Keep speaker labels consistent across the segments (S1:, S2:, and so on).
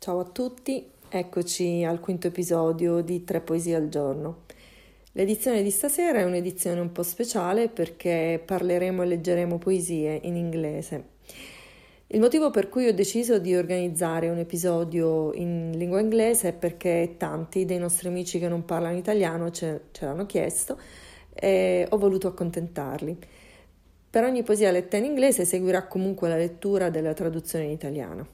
S1: Ciao a tutti, eccoci al quinto episodio di Tre Poesie al giorno. L'edizione di stasera è un'edizione un po' speciale perché parleremo e leggeremo poesie in inglese. Il motivo per cui ho deciso di organizzare un episodio in lingua inglese è perché tanti dei nostri amici che non parlano italiano ce l'hanno chiesto e ho voluto accontentarli. Per ogni poesia letta in inglese seguirà comunque la lettura della traduzione in italiano.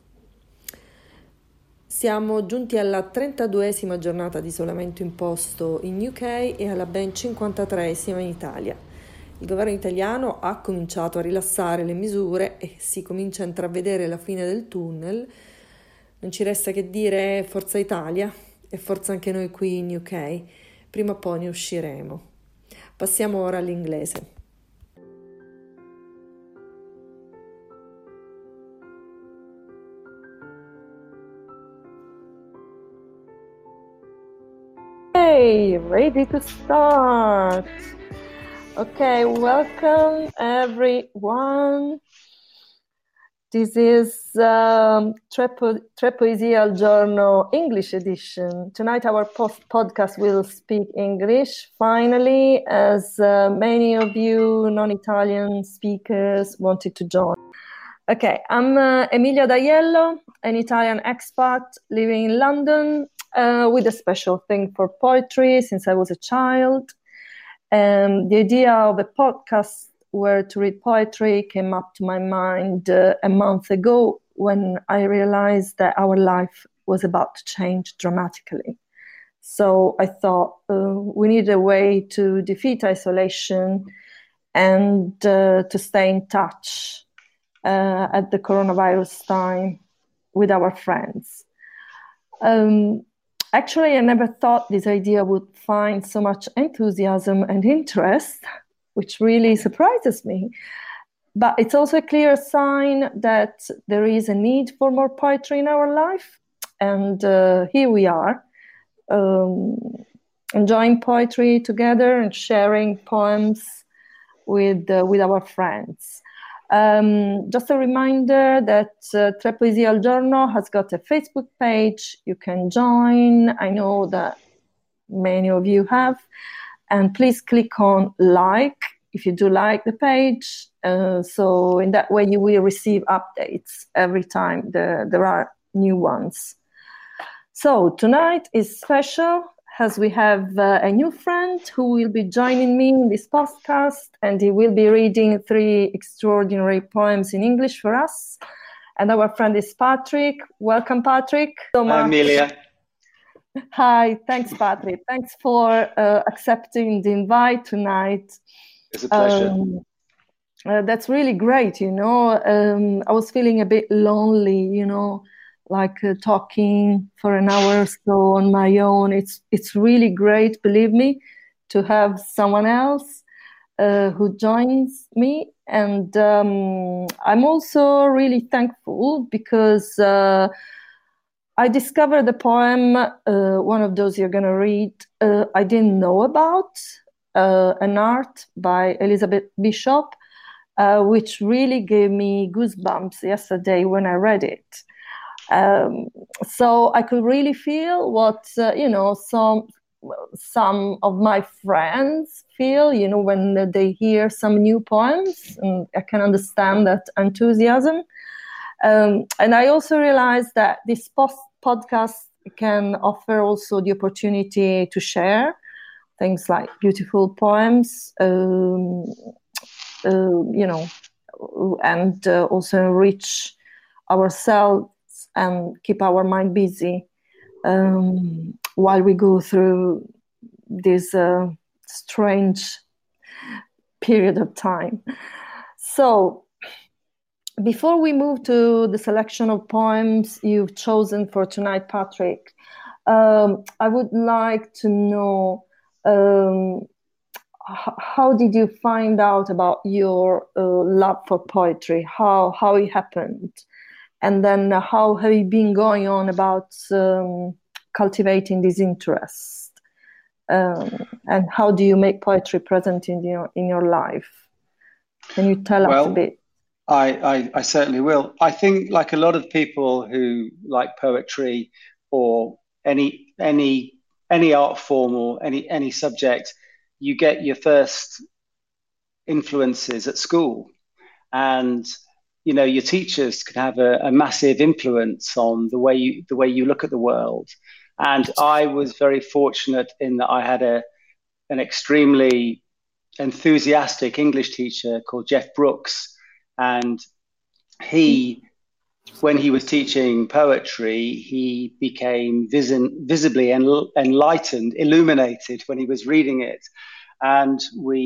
S1: Siamo giunti alla 32esima giornata di isolamento imposto in UK e alla ben 53esima in Italia. Il governo italiano ha cominciato a rilassare le misure e si comincia a intravedere la fine del tunnel. Non ci resta che dire Forza Italia e forza anche noi qui in UK. Prima o poi ne usciremo. Passiamo ora all'inglese. Hey, ready to start. Okay, welcome everyone. This is Tre Poesie al Giorno English edition. Tonight our podcast will speak English, finally, as many of you non-Italian speakers wanted to join. Okay, I'm Emilia D'Aiello, an Italian expat living in London with a special thing for poetry since I was a child. The idea of a podcast where to read poetry came up to my mind a month ago when I realized that our life was about to change dramatically. So I thought we need a way to defeat isolation and to stay in touch at the coronavirus time with our friends. Actually, I never thought this idea would find so much enthusiasm and interest, which really surprises me. But it's also a clear sign that there is a need for more poetry in our life. And here we are, enjoying poetry together and sharing poems with our friends. Just a reminder that Tre Poesie al Giorno has got a Facebook page. You can join. I know that many of you have. And please click on like if you do like the page. So in that way you will receive updates every time there are new ones. So tonight is special as we have a new friend who will be joining me in this podcast, and he will be reading 3 extraordinary poems in English for us. And our friend is Patrick. Welcome, Patrick.
S2: Hi, Emilia.
S1: Hi, thanks, Patrick. Thanks for accepting the invite tonight.
S2: It's a pleasure.
S1: That's really great, you know. I was feeling a bit lonely, you know, like talking for an hour or so on my own. It's really great, believe me, to have someone else who joins me. And I'm also really thankful because I discovered the poem, one of those you're going to read, I didn't know about, an art by Elizabeth Bishop, which really gave me goosebumps yesterday when I read it. So I could really feel what some of my friends feel, you know, when they hear some new poems, and I can understand that enthusiasm. And I also realized that this podcast can offer also the opportunity to share things like beautiful poems, you know, and also enrich ourselves and keep our mind busy while we go through this strange period of time. So before we move to the selection of poems you've chosen for tonight, Patrick, I would like to know how did you find out about your love for poetry? How it happened? And then how have you been going on about cultivating this interest? And how do you make poetry present in your life? Can you tell us a bit?
S2: I certainly will. I think, like a lot of people who like poetry or any art form or any subject, you get your first influences at school, and your teachers can have a massive influence on the way you look at the world. And I was very fortunate in that I had an extremely enthusiastic English teacher called Jeff Brooks, and he, when he was teaching poetry, he became visibly enlightened, illuminated when he was reading it, and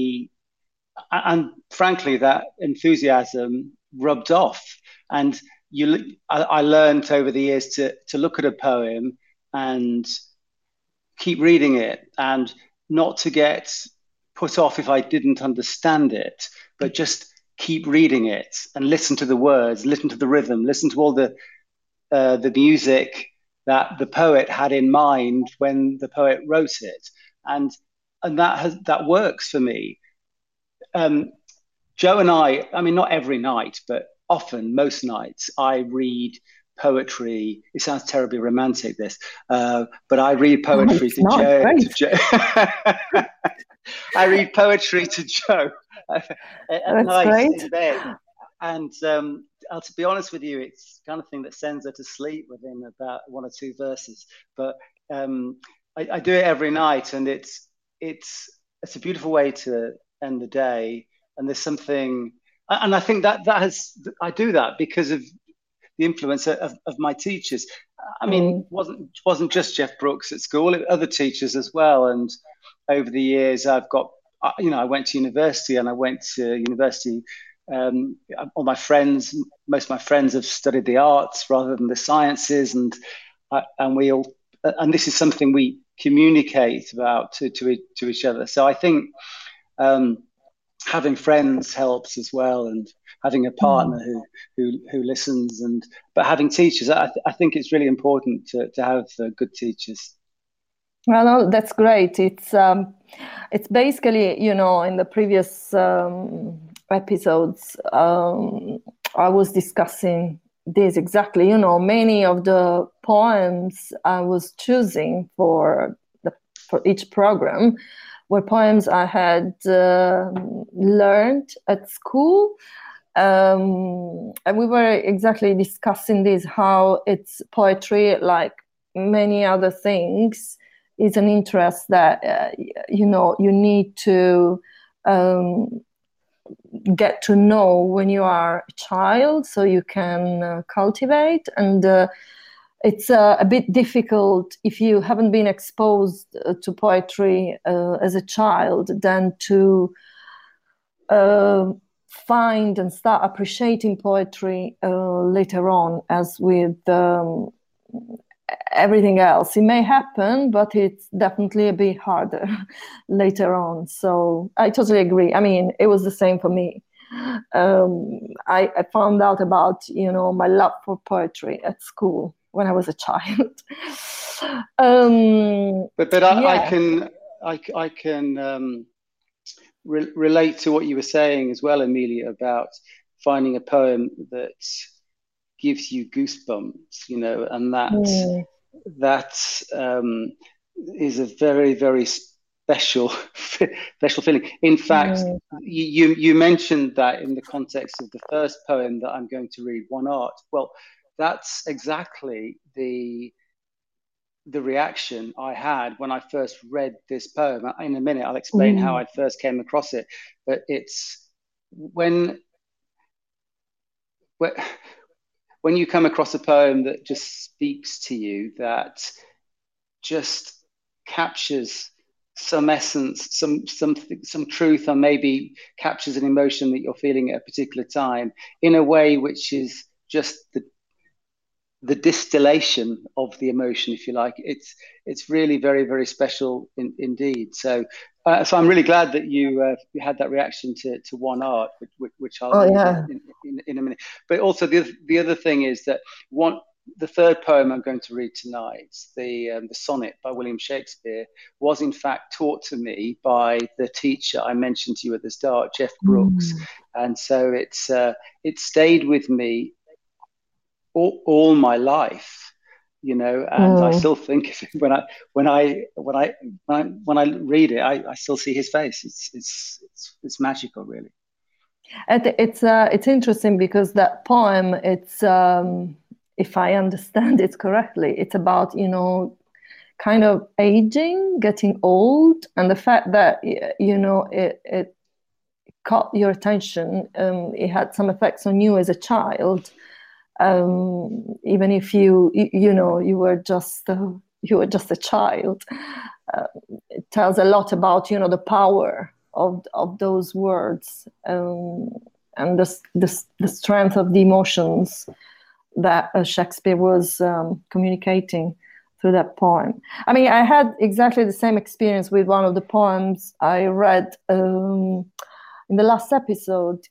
S2: frankly, that enthusiasm rubbed off. And I learned over the years to look at a poem and keep reading it, and not to get put off if I didn't understand it, but just keep reading it and listen to the words, listen to the rhythm, listen to all the music that the poet had in mind when the poet wrote it, and that works for me. Joe and I mean, not every night, but often, most nights, I read poetry. It sounds terribly romantic, this, but I read poetry
S1: to Joe.
S2: I read poetry to Joe at night in bed. And to be honest with you, it's the kind of thing that sends her to sleep within about one or two verses. But I do it every night, and it's a beautiful way to end the day. And there's something, and I think I do that because of the influence of my teachers. I mean, wasn't just Jeff Brooks at school, other teachers as well. And over the years, I went to university, and I went to university. All my friends, most of my friends have studied the arts rather than the sciences, and this is something we communicate about to each other. So I think having friends helps as well, and having a partner who listens, but having teachers, I think it's really important to have good teachers.
S1: Well, no, that's great. It's basically, in the previous episodes, I was discussing this exactly. Many of the poems I was choosing for each program were poems I had learned at school. And we were exactly discussing this, how it's poetry, like many other things, is an interest that, you need to get to know when you are a child, so you can cultivate. And it's a bit difficult if you haven't been exposed to poetry as a child, then to find and start appreciating poetry later on, as with everything else. It may happen, but it's definitely a bit harder later on. So I totally agree. I mean, it was the same for me. I found out about, my love for poetry at school when I was a child.
S2: I can relate to what you were saying as well, Amelia, about finding a poem that gives you goosebumps, and that is a very, very special feeling. In fact, you mentioned that in the context of the first poem that I'm going to read, One Art. Well, that's exactly the reaction I had when I first read this poem. In a minute, I'll explain how I first came across it. But it's when you come across a poem that just speaks to you, that just captures some essence, some truth, or maybe captures an emotion that you're feeling at a particular time in a way which is just the distillation of the emotion, if you like. It's really very, very special indeed. So I'm really glad that you had that reaction to One Art, which I'll in a minute. But also the other thing is that the third poem I'm going to read tonight, the sonnet by William Shakespeare, was in fact taught to me by the teacher I mentioned to you at the start, Jeff Brooks,
S1: Mm.
S2: and so it stayed with me all my life, and I
S1: Mm.
S2: still think of it when I read it, I still see his face. It's magical, really.
S1: It's interesting because that poem, it's if I understand it correctly, it's about, kind of aging, getting old, and the fact that it caught your attention. It had some effects on you as a child, even if you were just a child. Uh, it tells a lot about the power of those words, and the strength of the emotions that Shakespeare was communicating through that poem. I mean, I had exactly the same experience with one of the poems I read in the last episode.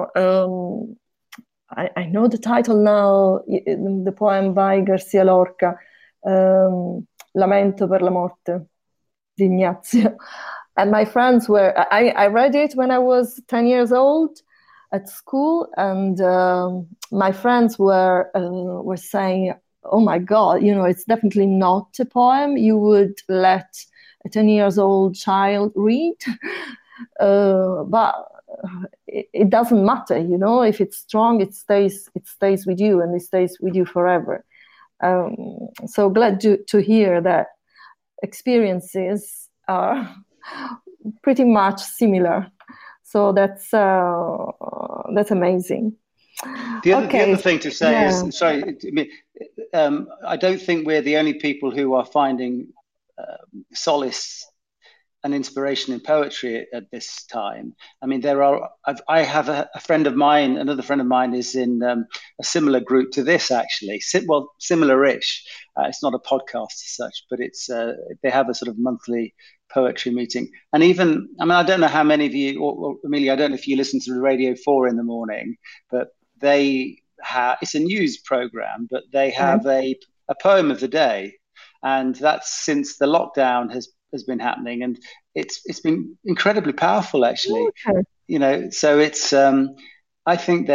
S1: I know the title now, the poem by Garcia Lorca, Lamento per la morte di Ignazio. And my friends I read it when I was 10 years old at school, and my friends were saying, "Oh my God, it's definitely not a poem you would let a 10 years old child read." But it doesn't matter, if it's strong, it stays with you, and it stays with you forever. So glad to hear that experiences are pretty much similar. So that's amazing.
S2: The other
S1: Okay,
S2: thing to say
S1: yeah,
S2: is, sorry, I mean, I don't think we're the only people who are finding solace and inspiration in poetry at this time. I mean, I have a friend of mine, another friend of mine is in a similar group to this, actually. Well, similar-ish. It's not a podcast as such, but they have a sort of monthly poetry meeting. And even, I mean, I don't know how many of you, or Amelia, I don't know if you listen to the Radio 4 in the morning, but it's a news program, but they
S1: okay.
S2: have a poem of the day. And that's since the lockdown has been happening, and it's been incredibly powerful, actually.
S1: Okay.
S2: So it's I think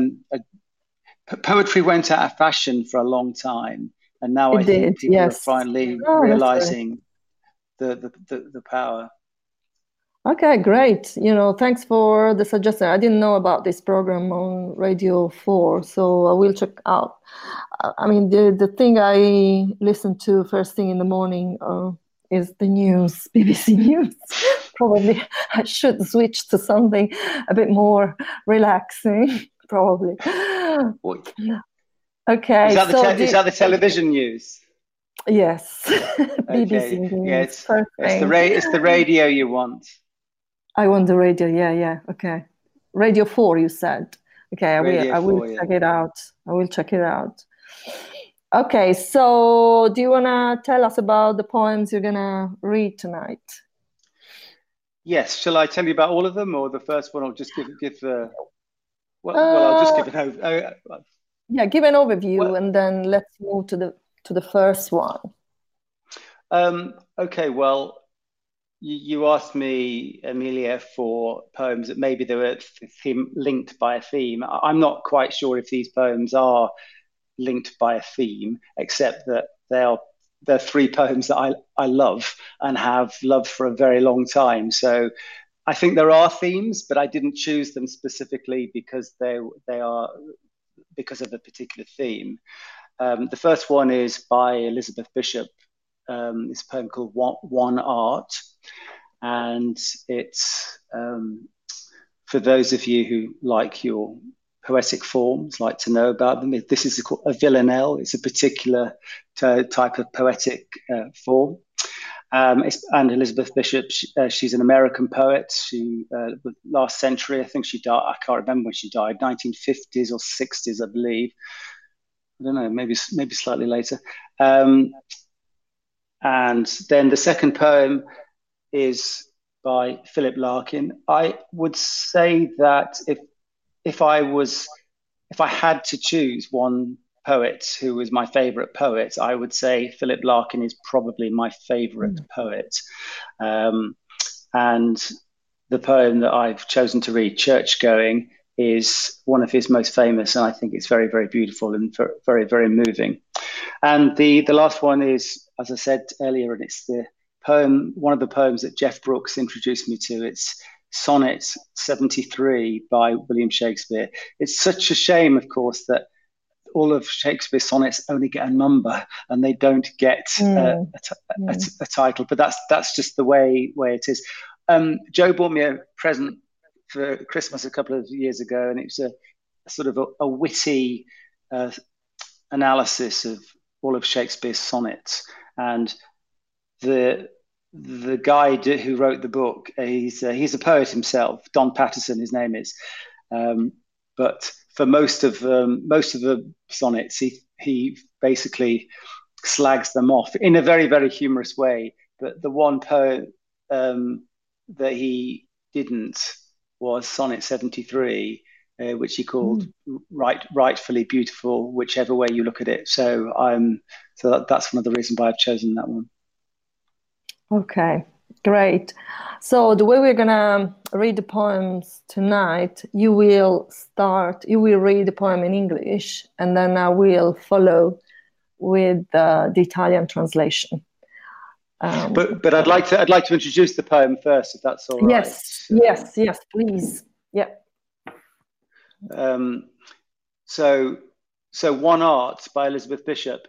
S2: poetry went out of fashion for a long time, and now I
S1: It
S2: think
S1: did,
S2: people are
S1: yes.
S2: finally
S1: Oh, that's great.
S2: realizing the power.
S1: Okay, great. Thanks for the suggestion. I didn't know about this program on Radio 4, so I will check out. I mean, the thing I listen to first thing in the morning is the news, BBC News. Probably I should switch to something a bit more relaxing, probably.
S2: What,
S1: Okay, so
S2: is that the television news?
S1: yes, BBC
S2: Okay, yeah,
S1: News, first thing.
S2: it's the radio you want.
S1: I want the radio. Yeah, yeah. Okay. Radio 4, you said. Okay,
S2: Radio
S1: I will
S2: 4, yeah.
S1: check it out. I will check it out. Okay, so do you wanna tell us about the poems you're gonna read tonight?
S2: Yes, shall I tell you about all of them, or the first one? I'll just give I'll just
S1: Uh,
S2: give it over.
S1: yeah, give an overview
S2: Well,
S1: and then let's move to the first one.
S2: okay. Well, you asked me, Amelia, for poems that maybe they were linked by a theme. I'm not quite sure if these poems are linked by a theme, except that they're three poems that I love and have loved for a very long time. So I think there are themes, but I didn't choose them specifically because they are because of a particular theme. The first one is by Elizabeth Bishop. It's a poem called One Art, and it's for those of you who like your poetic forms, like to know about them. This is a villanelle. It's a particular type of poetic form. And Elizabeth Bishop, she's an American poet. She last century, I think she died. I can't remember when she died, 1950s or 60s, I believe. I don't know, maybe slightly later. And then the second poem is by Philip Larkin. I would say that if I had to choose one poets who was my favorite poet, I would say Philip Larkin is probably my favorite poet. And the poem that I've chosen to read, Church Going, is one of his most famous, and I think it's very, very beautiful and very, very moving. And the last one is, as I said earlier, and it's the poem, one of the poems that Jeff Brooks introduced me to. It's Sonnet 73 by William Shakespeare. It's such a shame, of course, that all of Shakespeare's sonnets only get a number and they don't get a title. But that's just the way it is. Joe bought me a present for Christmas a couple of years ago, and it was a sort of a witty analysis of all of Shakespeare's sonnets. And the guy who wrote the book, he's a poet himself, Don Patterson, his name is. But for most of the sonnets, he basically slags them off in a very, very humorous way. But the one poem that he didn't was Sonnet 73, which he called rightfully beautiful, whichever way you look at it. So that's one of the reasons why I've chosen that one.
S1: Okay, great. So the way we're gonna read the poems tonight, you will read the poem in English, and then I will follow with the Italian translation.
S2: But I'd like to introduce the poem first, if that's all right.
S1: Yes, please. Yeah.
S2: So One Art by Elizabeth Bishop.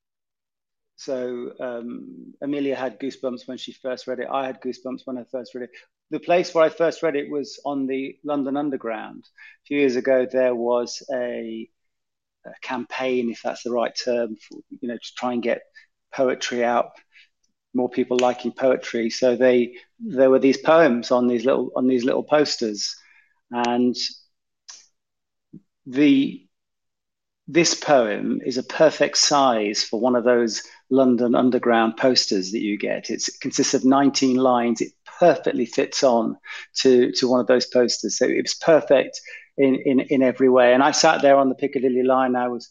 S2: So Amelia had goosebumps when she first read it. I had goosebumps when I first read it. The place where I first read it was on the London Underground. A few years ago, there was a campaign, if that's the right term, to try and get poetry out, more people liking poetry. So there were these poems on these little posters, and this poem is a perfect size for one of those London Underground posters that you get. It consists of 19 lines. It perfectly fits on to one of those posters. So it was perfect in every way. And I sat there on the Piccadilly line. I'd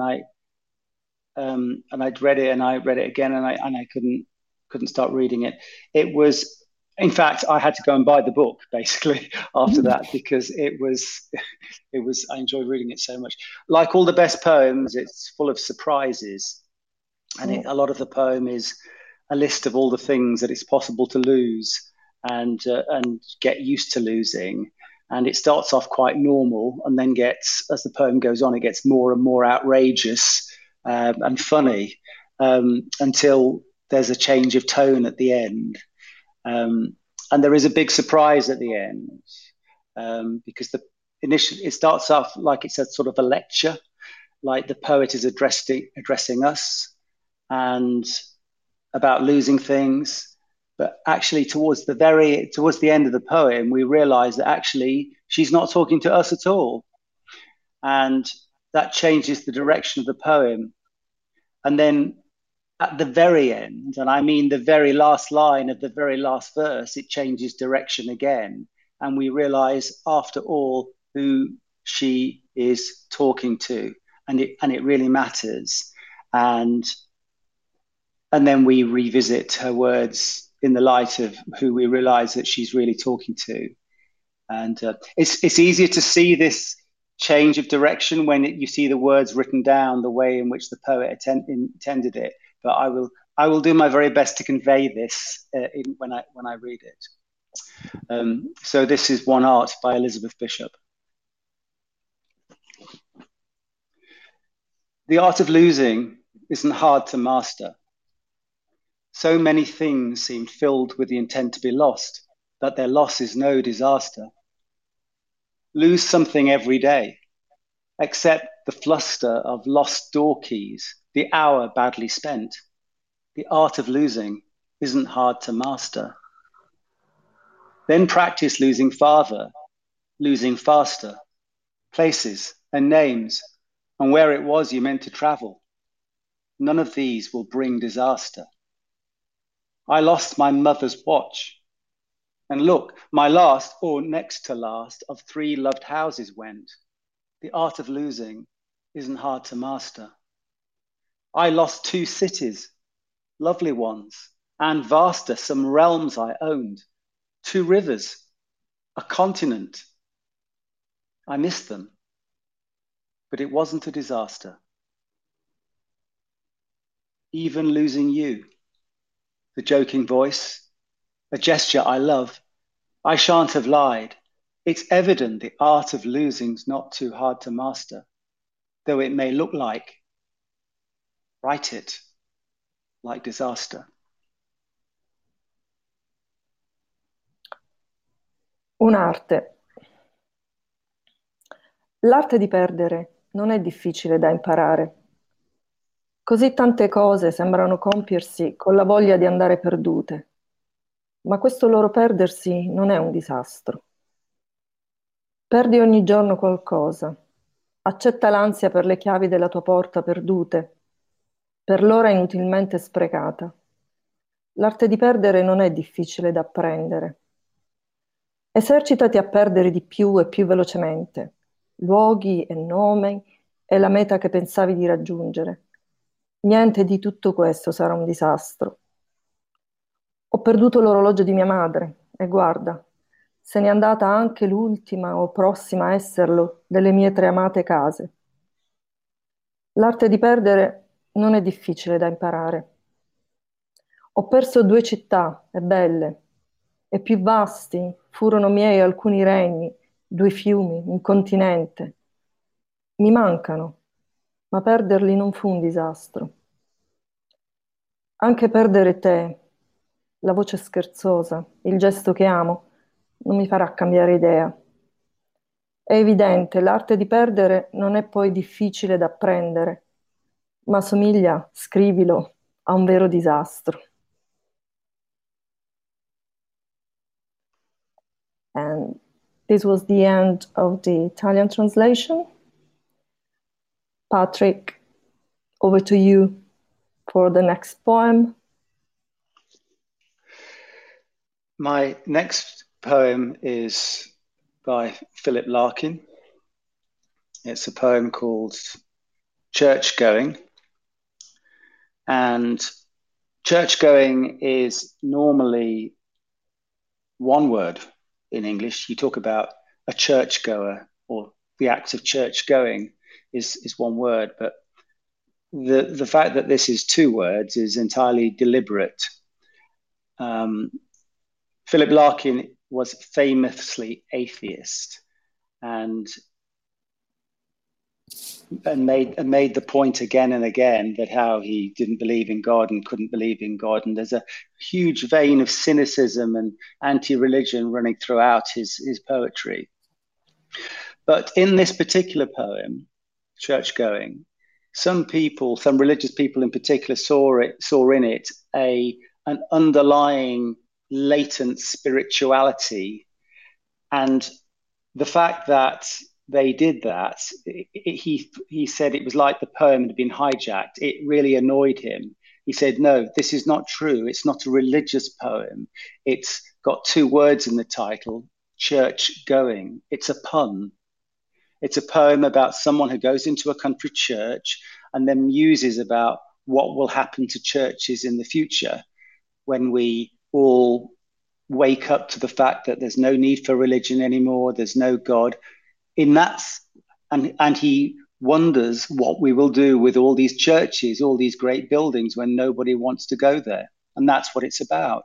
S2: read it, and I read it again, and I couldn't start reading it. It was, in fact, I had to go and buy the book basically after that, because it was I enjoyed reading it so much. Like all the best poems, it's full of surprises, and a lot of the poem is a list of all the things that it's possible to lose and get used to losing. And it starts off quite normal, and then as the poem goes on, it gets more and more outrageous and funny until there's a change of tone at the end. And there is a big surprise at the end, because it starts off like it's a sort of a lecture, like the poet is addressing us and about losing things. But actually, towards the end of the poem, we realize that actually she's not talking to us at all, and that changes the direction of the poem. And then at the very end, and I mean the very last line of the very last verse, it changes direction again. And we realize, after all, who she is talking to, and it really matters. And then we revisit her words in the light of who we realize that she's really talking to. And it's easier to see this change of direction when you see the words written down the way in which the poet intended it. But I will do my very best to convey this when I read it. So this is One Art by Elizabeth Bishop. The art of losing isn't hard to master. So many things seem filled with the intent to be lost, that their loss is no disaster. Lose something every day, except the fluster of lost door keys, the hour badly spent. The art of losing isn't hard to master. Then practice losing farther, losing faster, places and names, and where it was you meant to travel. None of these will bring disaster. I lost my mother's watch. And look, my last, or next to last, of 3 loved houses went. The art of losing isn't hard to master. I lost 2 cities, lovely ones, and vaster, some realms I owned, 2 rivers, a continent. I missed them, but it wasn't a disaster. Even losing you, the joking voice, a gesture I love, I shan't have lied. It's evident the art of losing's not too hard to master, though it may look like, write it, like disaster.
S1: Un'arte. L'arte di perdere non è difficile da imparare. Così tante cose sembrano compiersi con la voglia di andare perdute, ma questo loro perdersi non è un disastro. Perdi ogni giorno qualcosa. Accetta l'ansia per le chiavi della tua porta perdute, per l'ora inutilmente sprecata. L'arte di perdere non è difficile da apprendere. Esercitati a perdere di più e più velocemente, luoghi e nomi e la meta che pensavi di raggiungere. Niente di tutto questo sarà un disastro. Ho perduto l'orologio di mia madre e guarda, se n'è andata anche l'ultima o prossima a esserlo delle mie 3 amate case. L'arte di perdere non è difficile da imparare. Ho perso 2 città, e belle, e più vasti furono miei alcuni regni, 2 fiumi, un continente. Mi mancano, ma perderli non fu un disastro. Anche perdere te, la voce scherzosa, il gesto che amo, non mi farà cambiare idea. È evidente, l'arte di perdere non è poi difficile da apprendere, ma somiglia, scrivilo, a un vero disastro. And this was the end of the Italian translation. Patrick, over to you for the next poem.
S2: My next poem is by Philip Larkin. It's a poem called Church Going. And church going is normally one word in English. You talk about a churchgoer, or the act of church going is one word, but the fact that this is 2 words is entirely deliberate. Philip Larkin was famously atheist and made the point again and again that how he didn't believe in God and couldn't believe in God. And there's a huge vein of cynicism and anti-religion running throughout his poetry. But in this particular poem, Church Going, some religious people in particular, saw in it an underlying latent spirituality. And the fact that they did that, he said it was like the poem had been hijacked. It really annoyed him. He said, no, this is not true. It's not a religious poem. It's got 2 words in the title, church going. It's a pun. It's a poem about someone who goes into a country church and then muses about what will happen to churches in the future when we all wake up to the fact that there's no need for religion anymore, there's no God. And he wonders what we will do with all these churches, all these great buildings when nobody wants to go there. And that's what it's about.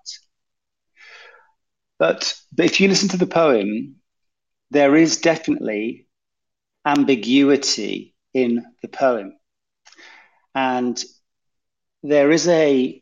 S2: But if you listen to the poem, there is definitely ambiguity in the poem. And there is a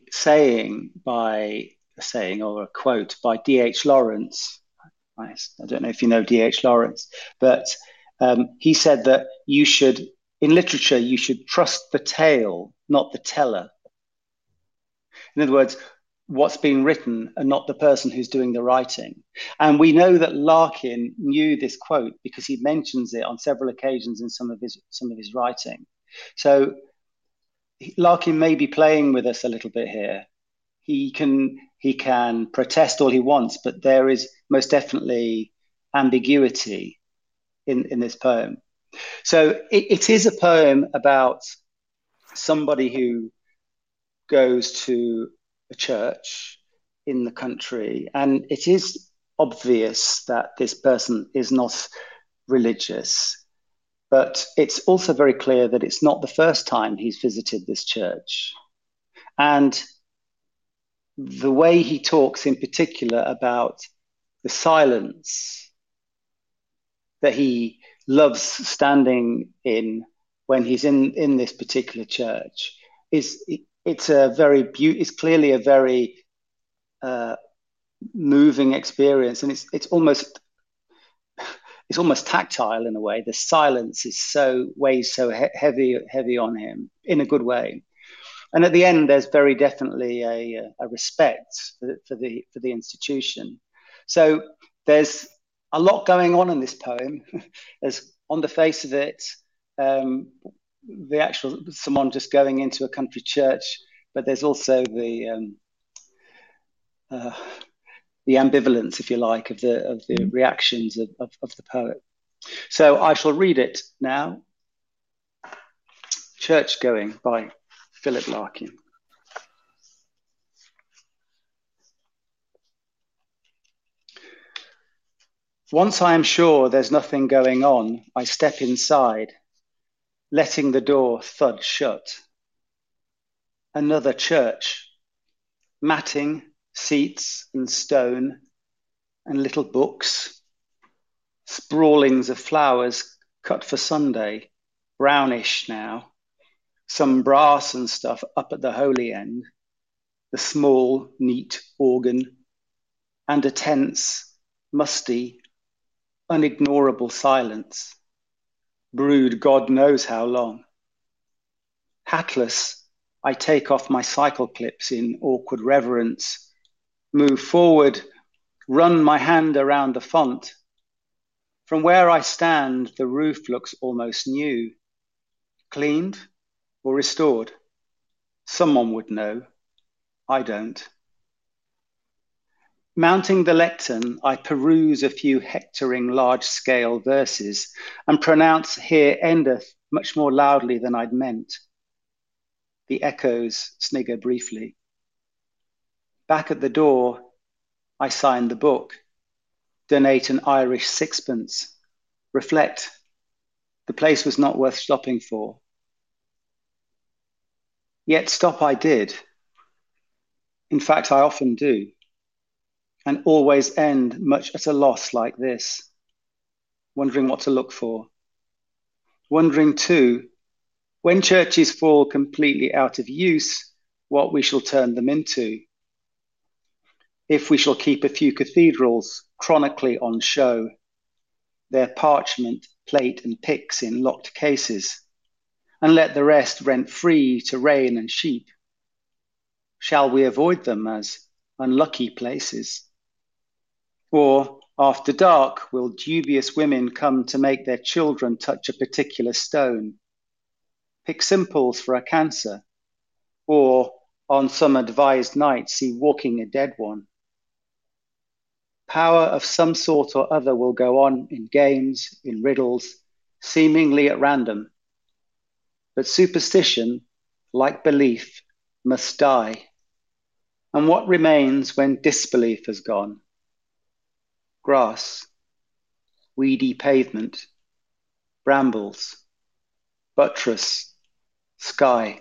S2: or a quote by D.H. Lawrence. I don't know if you know D.H. Lawrence, but he said that in literature, you should trust the tale, not the teller. In other words, what's being written and not the person who's doing the writing. And we know that Larkin knew this quote because he mentions it on several occasions in some of his writing. So Larkin may be playing with us a little bit here. He can protest all he wants, but there is most definitely ambiguity in this poem. So it is a poem about somebody who goes to a church in the country, and it is obvious that this person is not religious, but it's also very clear that it's not the first time he's visited this church. And the way he talks in particular about the silence that he loves standing in when he's in this particular church it's clearly a very moving experience, and it's almost tactile in a way. The silence weighs so heavy on him in a good way. And at the end, there's very definitely a respect for the institution. So there's a lot going on in this poem. There's, on the face of it, the actual someone just going into a country church, but there's also the ambivalence, if you like, of the reactions of the poet. So I shall read it now. Church Going by Philip Larkin. Once I am sure there's nothing going on, I step inside, letting the door thud shut. Another church, matting, seats and stone, and little books, sprawlings of flowers cut for Sunday, brownish now, some brass and stuff up at the holy end, the small, neat organ, and a tense, musty, unignorable silence, brewed God knows how long. Hatless, I take off my cycle clips in awkward reverence, move forward, run my hand around the font. From where I stand, the roof looks almost new. Cleaned or restored? Someone would know. I don't. Mounting the lectern, I peruse a few hectoring large-scale verses and pronounce "Here endeth" much more loudly than I'd meant. The echoes snigger briefly. Back at the door, I sign the book, donate an Irish sixpence, reflect. The place was not worth stopping for. Yet stop I did. In fact, I often do, and always end much at a loss like this, wondering what to look for. Wondering too, when churches fall completely out of use, what we shall turn them into. If we shall keep a few cathedrals chronically on show, their parchment, plate and pyx in locked cases, and let the rest rent free to rain and sheep. Shall we avoid them as unlucky places? Or after dark, will dubious women come to make their children touch a particular stone, pick simples for a cancer, or on some advised night see walking a dead one? Power of some sort or other will go on in games, in riddles, seemingly at random. But superstition, like belief, must die. And what remains when disbelief has gone? Grass, weedy pavement, brambles, buttress, sky.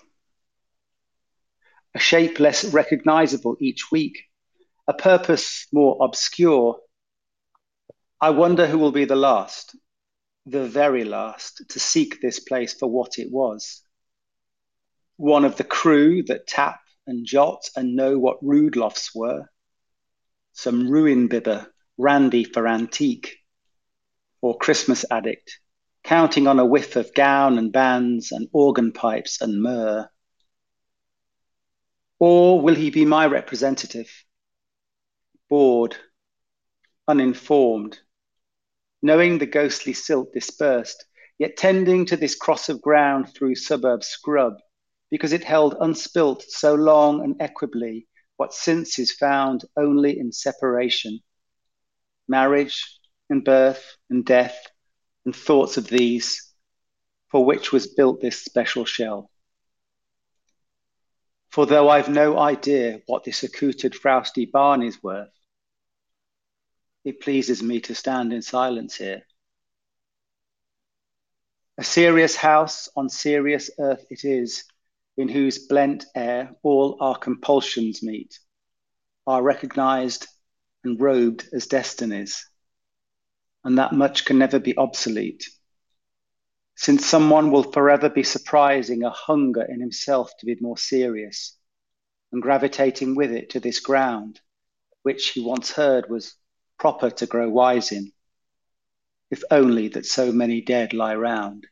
S2: A shape less recognizable each week, a purpose more obscure. I wonder who will be the last, the very last, to seek this place for what it was. One of the crew that tap and jot and know what rude lofts were. Some ruin bibber, randy for antique, or Christmas addict, counting on a whiff of gown and bands and organ pipes and myrrh. Or will he be my representative? Bored, uninformed, knowing the ghostly silt dispersed, yet tending to this cross of ground through suburb scrub, because it held unspilt so long and equably what since is found only in separation. Marriage and birth and death and thoughts of these, for which was built this special shell. For though I've no idea what this accoutred frowsty barn is worth, it pleases me to stand in silence here. A serious house on serious earth it is, in whose blent air all our compulsions meet, are recognized and robed as destinies, and that much can never be obsolete, since someone will forever be surprising a hunger in himself to be more serious, and gravitating with it to this ground, which he once heard was proper to grow wise in, if only that so many dead lie round.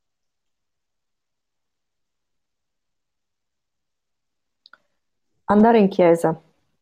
S1: Andare in chiesa.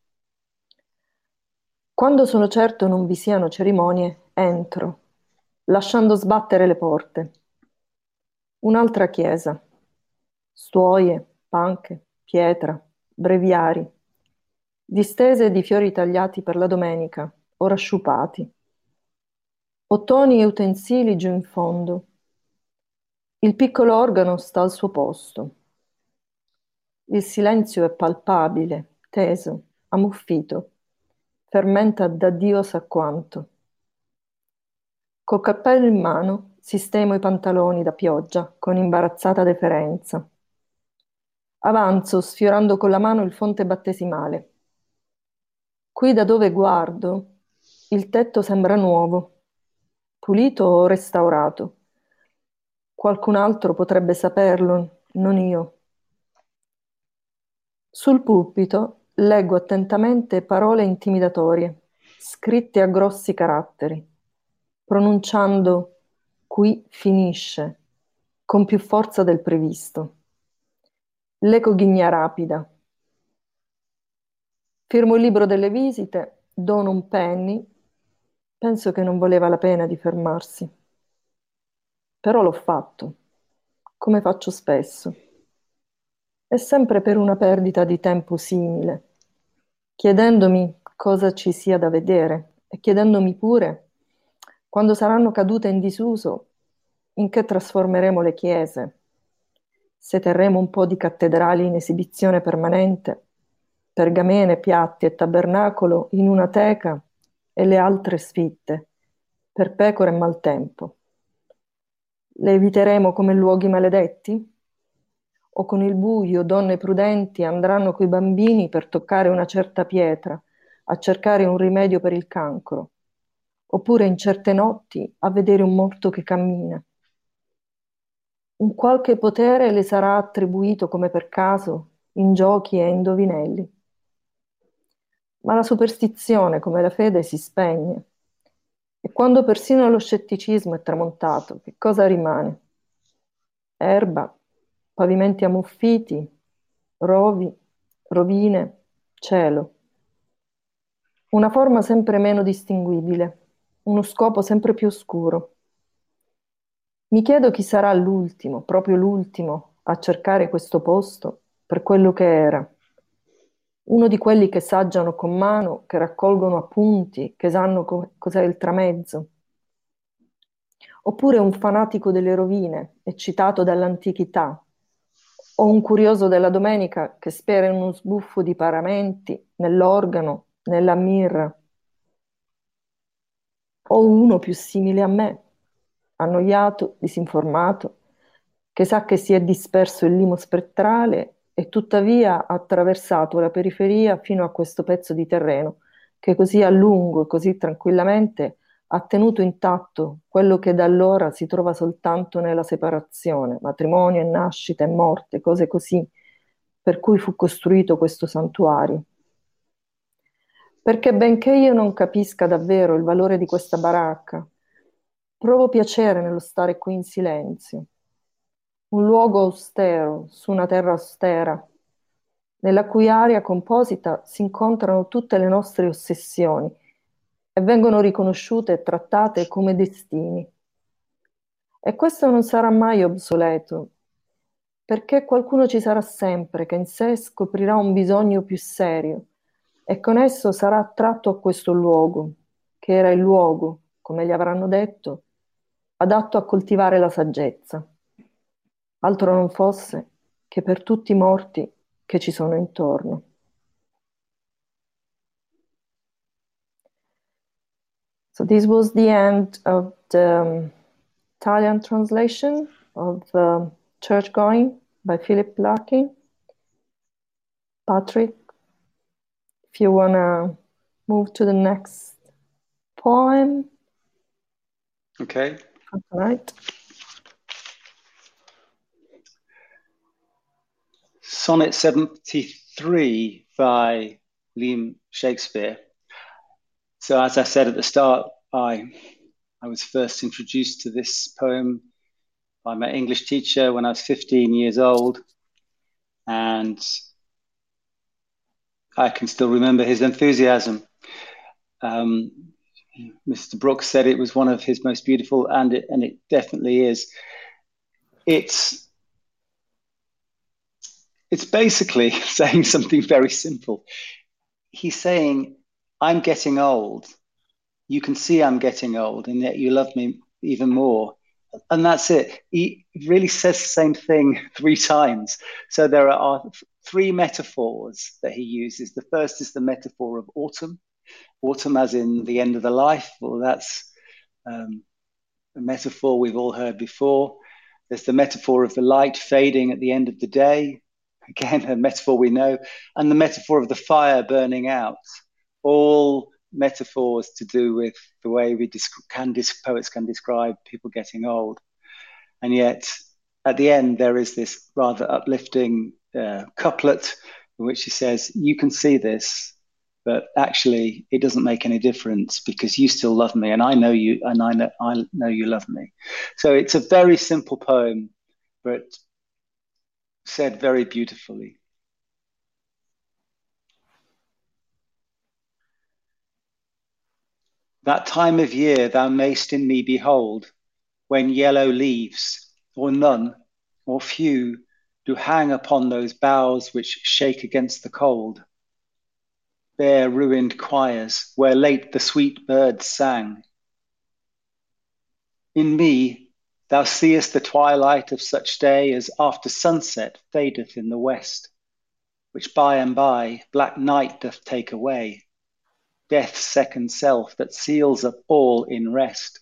S1: Quando sono certo non vi siano cerimonie, entro, lasciando sbattere le porte. Un'altra chiesa. Stuoie, panche, pietra, breviari, distese di fiori tagliati per la domenica, ora sciupati. Ottoni e utensili giù in fondo. Il piccolo organo sta al suo posto. Il silenzio è palpabile, teso, ammuffito, fermenta da Dio sa quanto. Col cappello in mano sistemo i pantaloni da pioggia con imbarazzata deferenza. Avanzo sfiorando con la mano il fonte battesimale. Qui da dove guardo, il tetto sembra nuovo, pulito o restaurato. Qualcun altro potrebbe saperlo, non io. Sul pulpito leggo attentamente parole intimidatorie, scritte a grossi caratteri, pronunciando qui finisce, con più forza del previsto. L'eco ghigna rapida. Firmo il libro delle visite, dono un penny, penso che non voleva la pena di fermarsi. Però l'ho fatto, come faccio spesso. E sempre per una perdita di tempo simile, chiedendomi cosa ci sia da vedere e chiedendomi pure, quando saranno cadute in disuso, in che trasformeremo le chiese, se terremo un po' di cattedrali in esibizione permanente, pergamene, piatti e tabernacolo in una teca e le altre sfitte, per pecore e maltempo. Le eviteremo come luoghi maledetti? O con il buio donne prudenti andranno coi bambini per toccare una certa pietra, a cercare un rimedio per il cancro, oppure in certe notti a vedere un morto che cammina. Un qualche potere le sarà attribuito come per caso, in giochi e indovinelli. Ma la superstizione, come la fede, si spegne. E quando persino lo scetticismo è tramontato, che cosa rimane? Erba, pavimenti ammuffiti, rovi, rovine, cielo. Una forma sempre meno distinguibile, uno scopo sempre più oscuro. Mi chiedo chi sarà l'ultimo, proprio l'ultimo, a cercare questo posto per quello che era. Uno di quelli che saggiano con mano, che raccolgono appunti, che sanno cos'è il tramezzo. Oppure un fanatico delle rovine, eccitato dall'antichità, o un curioso della domenica che spera in uno sbuffo di paramenti, nell'organo, nella mirra, o uno più simile a me, annoiato, disinformato, che sa che si è disperso il limo spettrale e tuttavia ha attraversato la periferia fino a questo pezzo di terreno, che così a lungo e così tranquillamente ha tenuto intatto quello che da allora si trova soltanto nella separazione, matrimonio e nascita e morte, cose così, per cui fu costruito questo santuario. Perché benché io non capisca davvero il valore di questa baracca, provo piacere nello stare qui in silenzio. Un luogo austero, su una terra austera, nella cui aria composita si incontrano tutte le nostre ossessioni e vengono riconosciute e trattate come destini. E questo non sarà mai obsoleto, perché qualcuno ci sarà sempre che in sé scoprirà un bisogno più serio e con esso sarà attratto a questo luogo, che era il luogo, come gli avranno detto, adatto a coltivare la saggezza. Altro non fosse che per tutti i morti che ci sono intorno. So this was the end of the Italian translation of Church Going by Philip Larkin. Patrick, if you want to move to the next poem.
S2: Okay.
S1: All right.
S2: Sonnet 73 by William Shakespeare. So as I said at the start, I was first introduced to this poem by my English teacher when I was 15 years old. And I can still remember his enthusiasm. Mr. Brooks said it was one of his most beautiful, and it definitely is. It's basically saying something very simple. He's saying, I'm getting old. You can see I'm getting old, and yet you love me even more. And that's it. He really says the same thing 3 times. So there are 3 metaphors that he uses. The first is the metaphor of autumn. Autumn as in the end of the life. Well, that's a metaphor we've all heard before. There's the metaphor of the light fading at the end of the day. Again, a metaphor we know. And the metaphor of the fire burning out. All metaphors to do with the way poets can describe people getting old. And yet, at the end, there is this rather uplifting couplet in which he says, you can see this, but actually it doesn't make any difference because you still love me, and I know you, and I know you love me. So it's a very simple poem, but said very beautifully. That time of year thou mayst in me behold, when yellow leaves, or none, or few, do hang upon those boughs which shake against the cold. Bare ruined choirs, where late the sweet birds sang. In me thou seest the twilight of such day as after sunset fadeth in the west, which by and by black night doth take away, death's second self that seals up all in rest.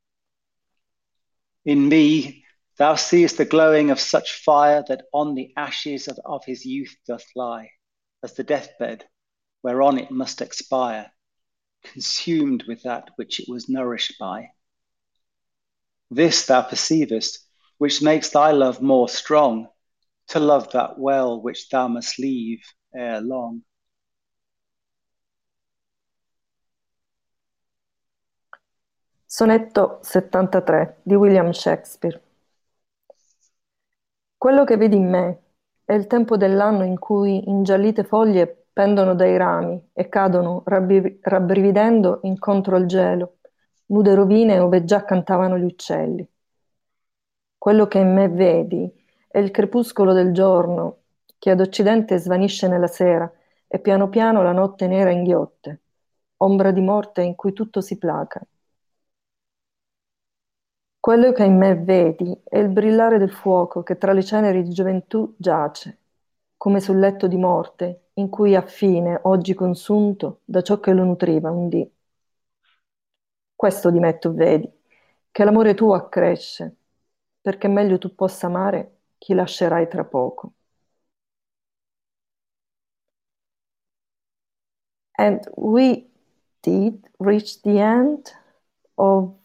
S2: In me thou seest the glowing of such fire that on the ashes of his youth doth lie, as the deathbed whereon it must expire, consumed with that which it was nourished by. This thou perceivest, which makes thy love more strong, to love that well which thou must leave ere long.
S1: Sonetto 73 di William Shakespeare. Quello che vedi in me è il tempo dell'anno in cui ingiallite foglie pendono dai rami e cadono rabbrividendo incontro al gelo, nude rovine ove già cantavano gli uccelli. Quello che in me vedi è il crepuscolo del giorno che ad occidente svanisce nella sera e piano piano la notte nera inghiotte, ombra di morte in cui tutto si placa. Quello che in me vedi è il brillare del fuoco che tra le ceneri di gioventù giace, come sul letto di morte, in cui ha fine, oggi consunto, da ciò che lo nutriva un dì. Questo di me tu vedi, che l'amore tuo accresce, perché meglio tu possa amare chi lascerai tra poco. And we did reach the end of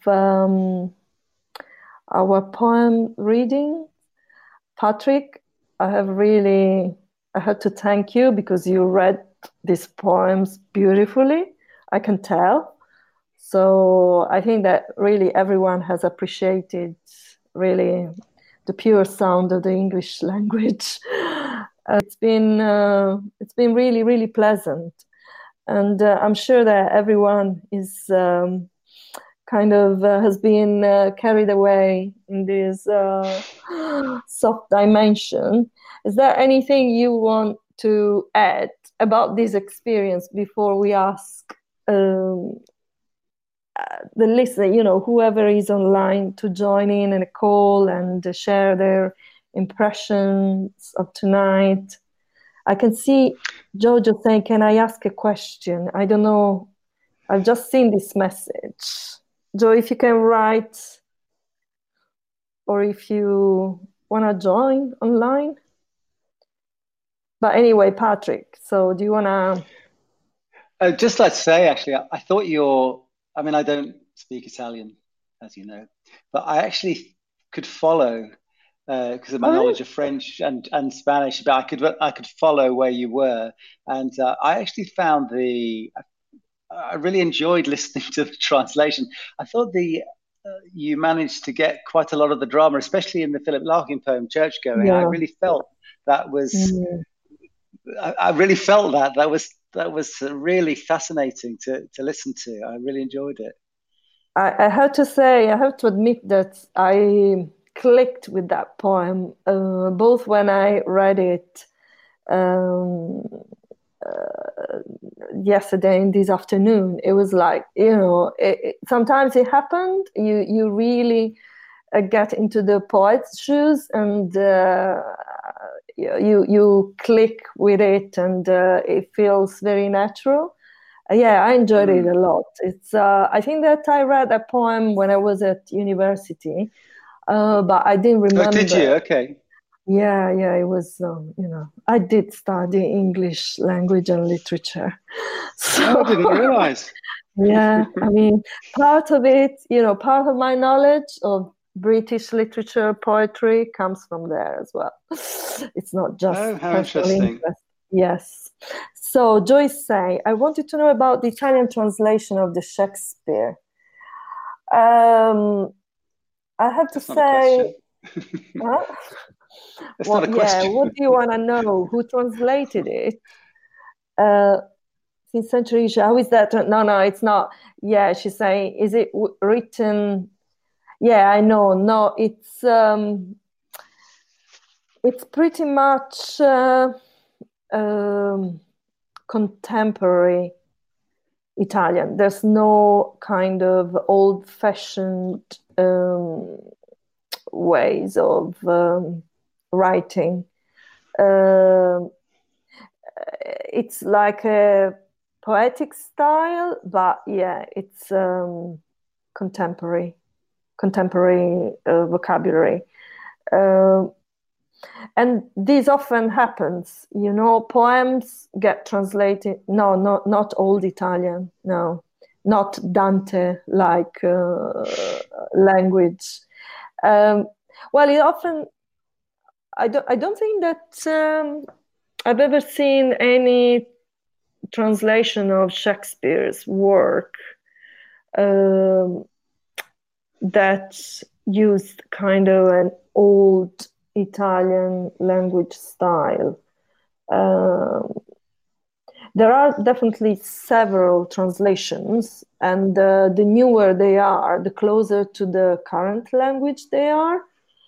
S1: our poem reading. Patrick, I had to thank you because you read these poems beautifully, I can tell. So I think that really everyone has appreciated really the pure sound of the English language. It's been really, really pleasant. And I'm sure that everyone is has been carried away in this soft dimension. Is there anything you want to add about this experience before we ask the listener, whoever is online, to join in a call and share their impressions of tonight? I can see Jojo saying, "Can I ask a question?" I don't know. I've just seen this message. Joe, if you can write, or if you want to join online. But anyway, Patrick, so do you want to...
S2: I'd just like to say, actually, I thought I mean, I don't speak Italian, as you know, but I actually could follow because of my
S1: Oh, really?
S2: knowledge of French and Spanish. But I could follow where you were, and I actually found I really enjoyed listening to the translation. I thought you managed to get quite a lot of the drama, especially in the Philip Larkin poem "Churchgoing." I
S1: Yeah.
S2: really felt that was.
S1: Mm.
S2: I really felt that was really fascinating to listen to. I really enjoyed it.
S1: I have to say, I have to admit that I clicked with that poem, both when I read it um, yesterday and this afternoon. It was like, sometimes it happened. You really get into the poet's shoes, and you click with it, and it feels very natural. Yeah, I enjoyed it a lot. It's I think that I read a poem when I was at university, but I didn't remember.
S2: Oh, did you? Okay.
S1: Yeah, it was, I did study English language and literature. So,
S2: I didn't realize.
S1: yeah, I mean, part of it, part of my knowledge of British literature, poetry comes from there as well. It's not just
S2: Oh, how
S1: personal
S2: interesting.
S1: interest. Yes. So Joyce say, I wanted to know about the Italian translation of the Shakespeare. I have to
S2: That's not a question.
S1: huh?
S2: That's
S1: Well,
S2: not a
S1: yeah,
S2: question.
S1: what do you want to know? Who translated it? Since centuries, how is that? No, it's not. Yeah, she's saying, is it written? Yeah, I know. No, it's pretty much contemporary Italian. There's no kind of old-fashioned ways of writing. It's like a poetic style, but yeah, it's contemporary vocabulary. And this often happens, poems get translated. No, not old Italian. No, not Dante like language. Well, it often. I don't think that I've ever seen any translation of Shakespeare's work that used kind of an old Italian language style. There are definitely several translations, and the newer they are, the closer to the current language they are.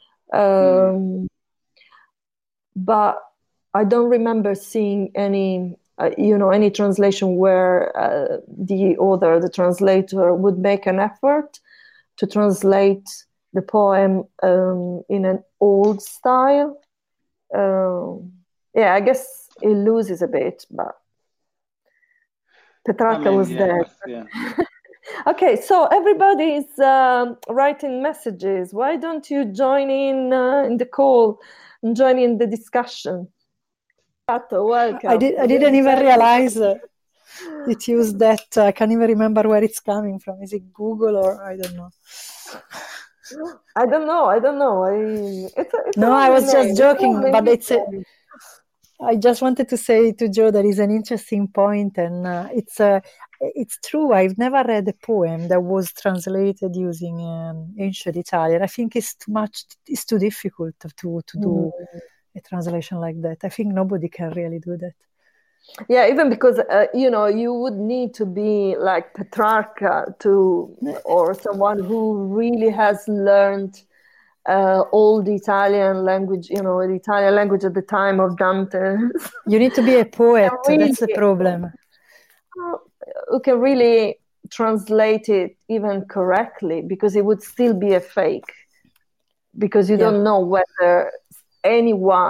S1: But I don't remember seeing any, any translation where the author, the translator, would make an effort to translate the poem in an old style. Yeah, I guess it loses a bit, but Petrarca was there.
S2: Yeah.
S1: Okay, so everybody is writing messages. Why don't you join in the call and join in the discussion? Pato, welcome.
S3: I didn't even realize it used that. I can't even remember where it's coming from. Is it Google or I don't know?
S1: I don't know.
S3: No, I was just joking, but I just wanted to say to Joe that is an interesting point, and it's true. I've never read a poem that was translated using ancient Italian. I think it's too much. It's too difficult to do a translation like that. I think nobody can really do that.
S1: Yeah, even because you would need to be like Petrarca or someone who really has learned old Italian language, the Italian language at the time of Dante.
S3: You need to be a poet. Really, that's the problem.
S1: Who can really translate it even correctly, because it would still be a fake, because you don't know whether anyone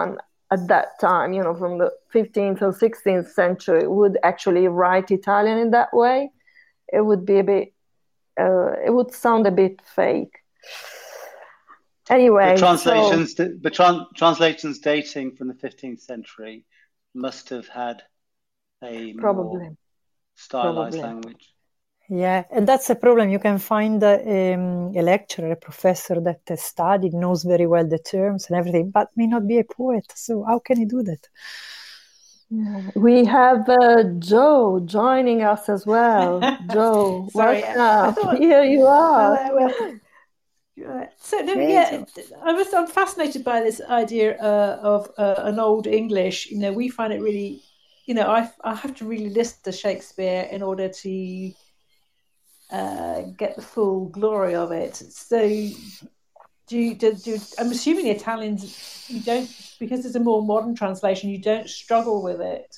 S1: at that time, from the 15th or 16th century, would actually write Italian in that way, it would be a bit, it would sound a bit fake. Anyway,
S2: translations dating from the 15th century must have had a more stylized language.
S3: Yeah, and that's a problem. You can find a lecturer, a professor that has studied, knows very well the terms and everything, but may not be a poet. So how can he do that?
S1: Yeah. We have Joe joining us as well. Joe,
S4: sorry,
S1: here you are.
S4: I'm fascinated by this idea of an old English. We find it really, I have to really listen to Shakespeare in order to get the full glory of it. So, I'm assuming the Italians, you don't, because it's a more modern translation, you don't struggle with it.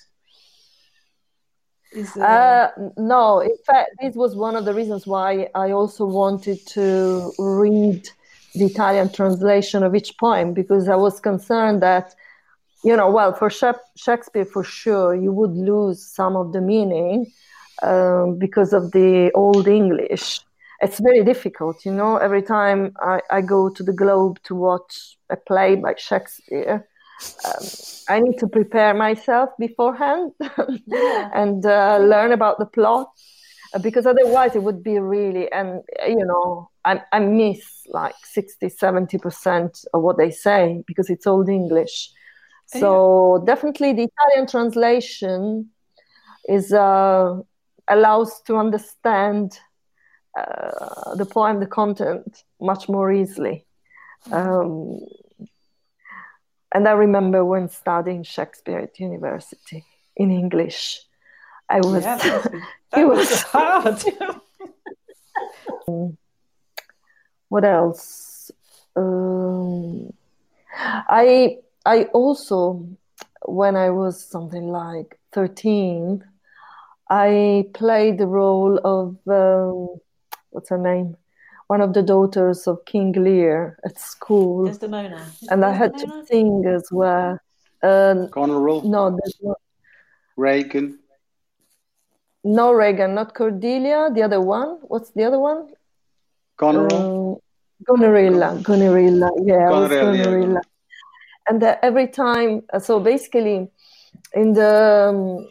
S1: No, in fact, this was one of the reasons why I also wanted to read the Italian translation of each poem, because I was concerned that, for Shakespeare, for sure, you would lose some of the meaning because of the Old English. It's very difficult, every time I go to the Globe to watch a play by Shakespeare, I need to prepare myself beforehand and learn about the plot, because otherwise it would be really, and I miss like 60-70% of what they say because it's Old English. So definitely the Italian translation is allows to understand the poem, the content, much more easily. And I remember when studying Shakespeare at university in English, it was
S4: hard.
S1: What else? I also, when I was something like 13, I played the role of what's her name? One of the daughters of King Lear at school.
S4: Desdemona.
S1: And I had to sing as well.
S2: Goneril?
S1: No, there's not.
S2: Regan?
S1: No, Regan, not Cordelia. The other one. What's the other one?
S2: Goneril?
S1: Gonerilla. Yeah, I was
S2: Gonerilla.
S1: And every time, so basically, in the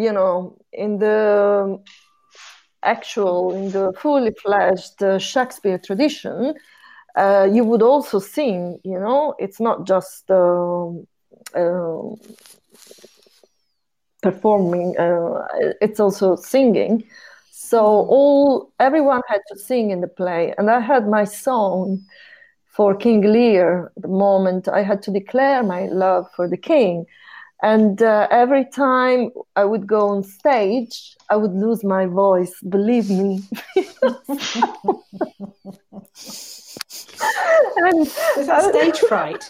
S1: fully fledged Shakespeare tradition, you would also sing, it's not just performing, it's also singing. So everyone had to sing in the play. And I had my song for King Lear, the moment I had to declare my love for the king. And every time I would go on stage, I would lose my voice, believe me.
S4: Was that stage fright?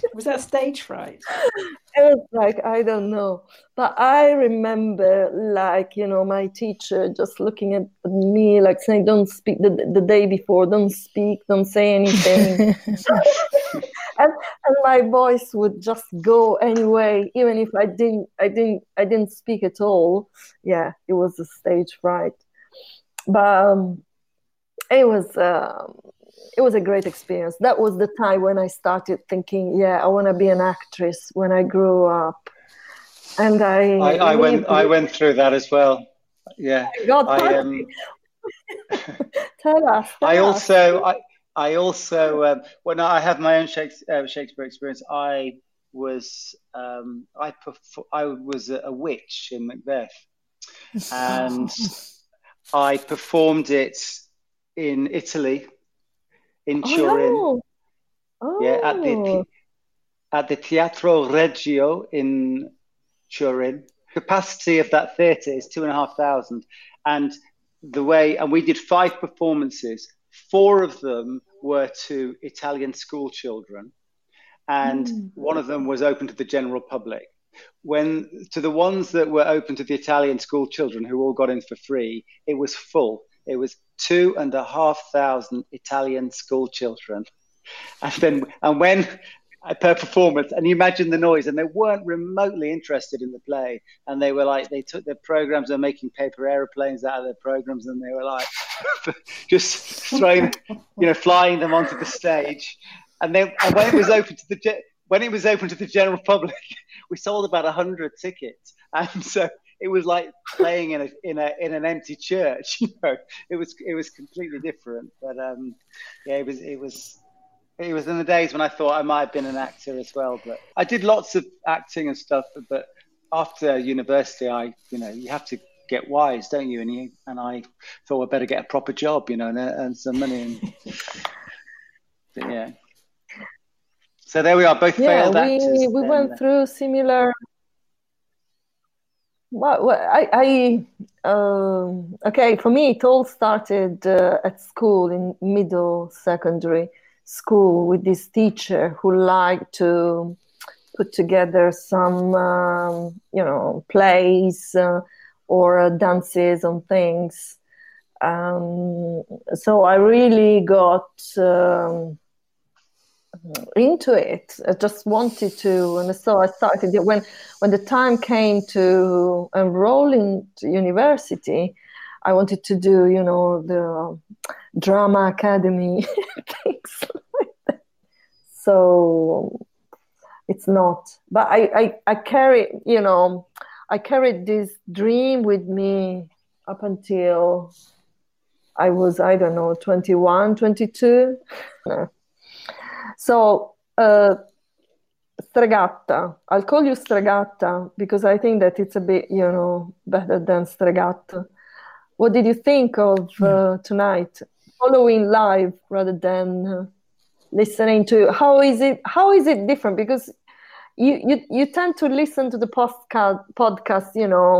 S4: It
S1: was like, I don't know. But I remember, my teacher just looking at me, saying, don't speak the day before, don't speak, don't say anything. and my voice would just go anyway, even if I didn't speak at all. Yeah, it was a stage fright. But it was a great experience. That was the time when I started thinking, I want to be an actress when I grew up. And
S2: I went through that as well. Yeah.
S1: God, tell us.
S2: I also when I had my own Shakespeare experience, I was a witch in Macbeth, and I performed it in Italy, in Turin. At the Teatro Regio in Turin. Capacity of that theatre is 2,500, and we did 5 performances. 4 of them were to Italian school children, and one of them was open to the general public. To the ones that were open to the Italian school children, who all got in for free, it was full. It was 2,500 Italian school children, and per performance, and you imagine the noise, and they weren't remotely interested in the play, and they were like, they took their programs, they're making paper airplanes out of their programs, and they were like just throwing, flying them onto the stage. And then when it was open to the general public, we sold about 100 tickets, and so it was like playing in an empty church. It was completely different, but it was in the days when I thought I might have been an actor as well. But I did lots of acting and stuff. But after university, you have to get wise, don't you? And I thought I'd better get a proper job, and earn some money. But yeah. So there we are, both failed actors.
S1: We went through similar. Well, okay, for me, it all started at school, in middle secondary school, with this teacher who liked to put together some, plays or dances on things. So I really got into it. I just wanted to, and so I started when the time came to enroll in university. I wanted to do, the drama academy, things like that. So it's not, but I carried this dream with me up until I was, 21, 22. So, Stregatta. I'll call you Stregatta because I think that it's a bit, better than Stregato. What did you think of tonight? Following live rather than listening to. How is it different? Because you tend to listen to the podcast,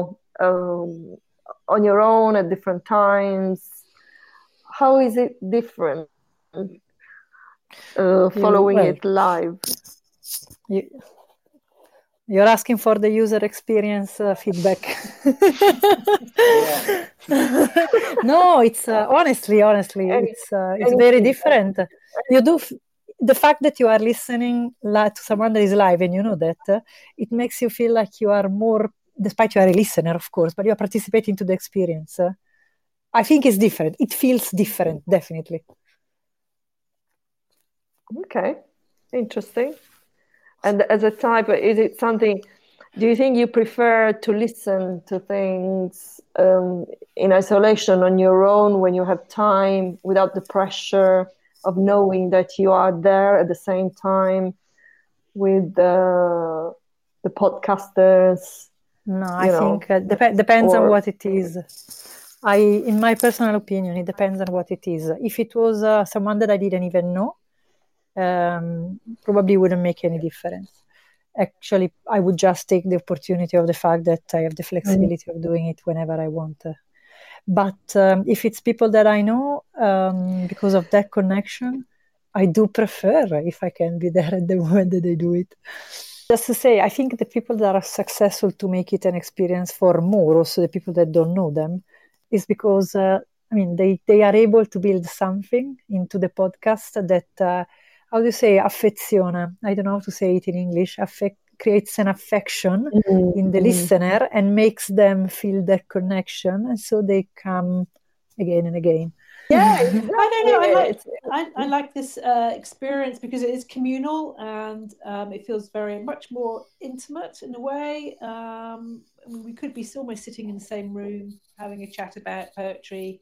S1: on your own at different times. How is it different? Following it live.
S3: You're asking for the user experience feedback. No, it's honestly, it's very different. You do the fact that you are listening to someone that is live, and you know that it makes you feel like you are more, despite you are a listener, of course, but you are participating to the experience. I think it's different. It feels different, definitely.
S1: Okay, interesting. And as a type, is it something, do you think you prefer to listen to things in isolation on your own when you have time, without the pressure of knowing that you are there at the same time with the podcasters?
S3: No, I think depends on what it is. In my personal opinion, it depends on what it is. If it was someone that I didn't even know, probably wouldn't make any difference. Actually, I would just take the opportunity of the fact that I have the flexibility of doing it whenever I want. But if it's people that I know, because of that connection, I do prefer if I can be there at the moment that they do it. Just to say, I think the people that are successful to make it an experience for more, also the people that don't know them, is because they are able to build something into the podcast that how do you say, affeziona? I don't know how to say it in English. Creates an affection in the listener and makes them feel that connection, and so they come again and again.
S1: Yeah,
S4: exactly. I don't know. I like this experience because it is communal and it feels very much more intimate in a way. We could be almost sitting in the same room having a chat about poetry.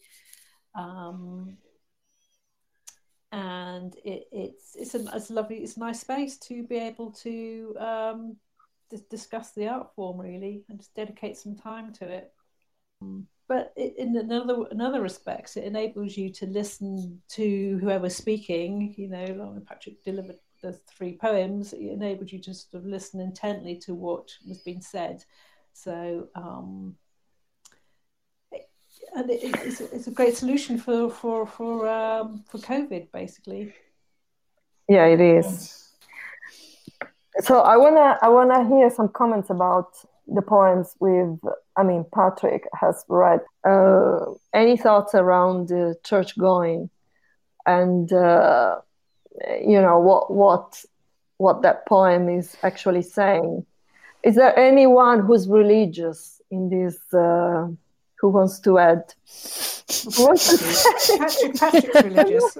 S4: And it's a nice space to be able to discuss the art form, really, and just dedicate some time to it. But in another respects, it enables you to listen to whoever's speaking. Like when Patrick delivered the 3 poems, it enabled you to sort of listen intently to what was being said. So. And it's a great solution for COVID, basically.
S1: Yeah, it is. So I wanna hear some comments about the poems Patrick has read. Any thoughts around church going, and what what that poem is actually saying. Is there anyone who's religious in this? Who wants to add?
S4: Patrick's religious.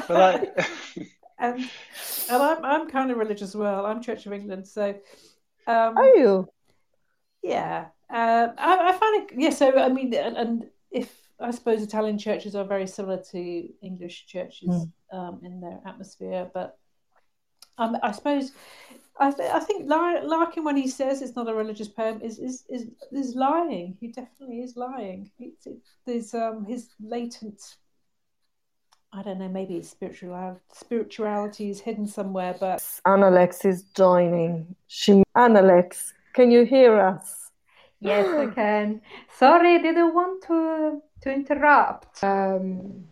S4: And I'm kind of religious as well. I'm Church of England, so.
S1: Are you?
S4: Yeah, I find it. Yeah, so I mean, and if I suppose Italian churches are very similar to English churches in their atmosphere, but I suppose I think Larkin, when he says it's not a religious poem, is lying. He definitely is lying. There's his latent. I don't know, maybe it's spirituality is hidden somewhere, but...
S1: Annalex is joining. Annalex, can you hear us?
S5: Yes, I can. Sorry, I didn't want to interrupt. But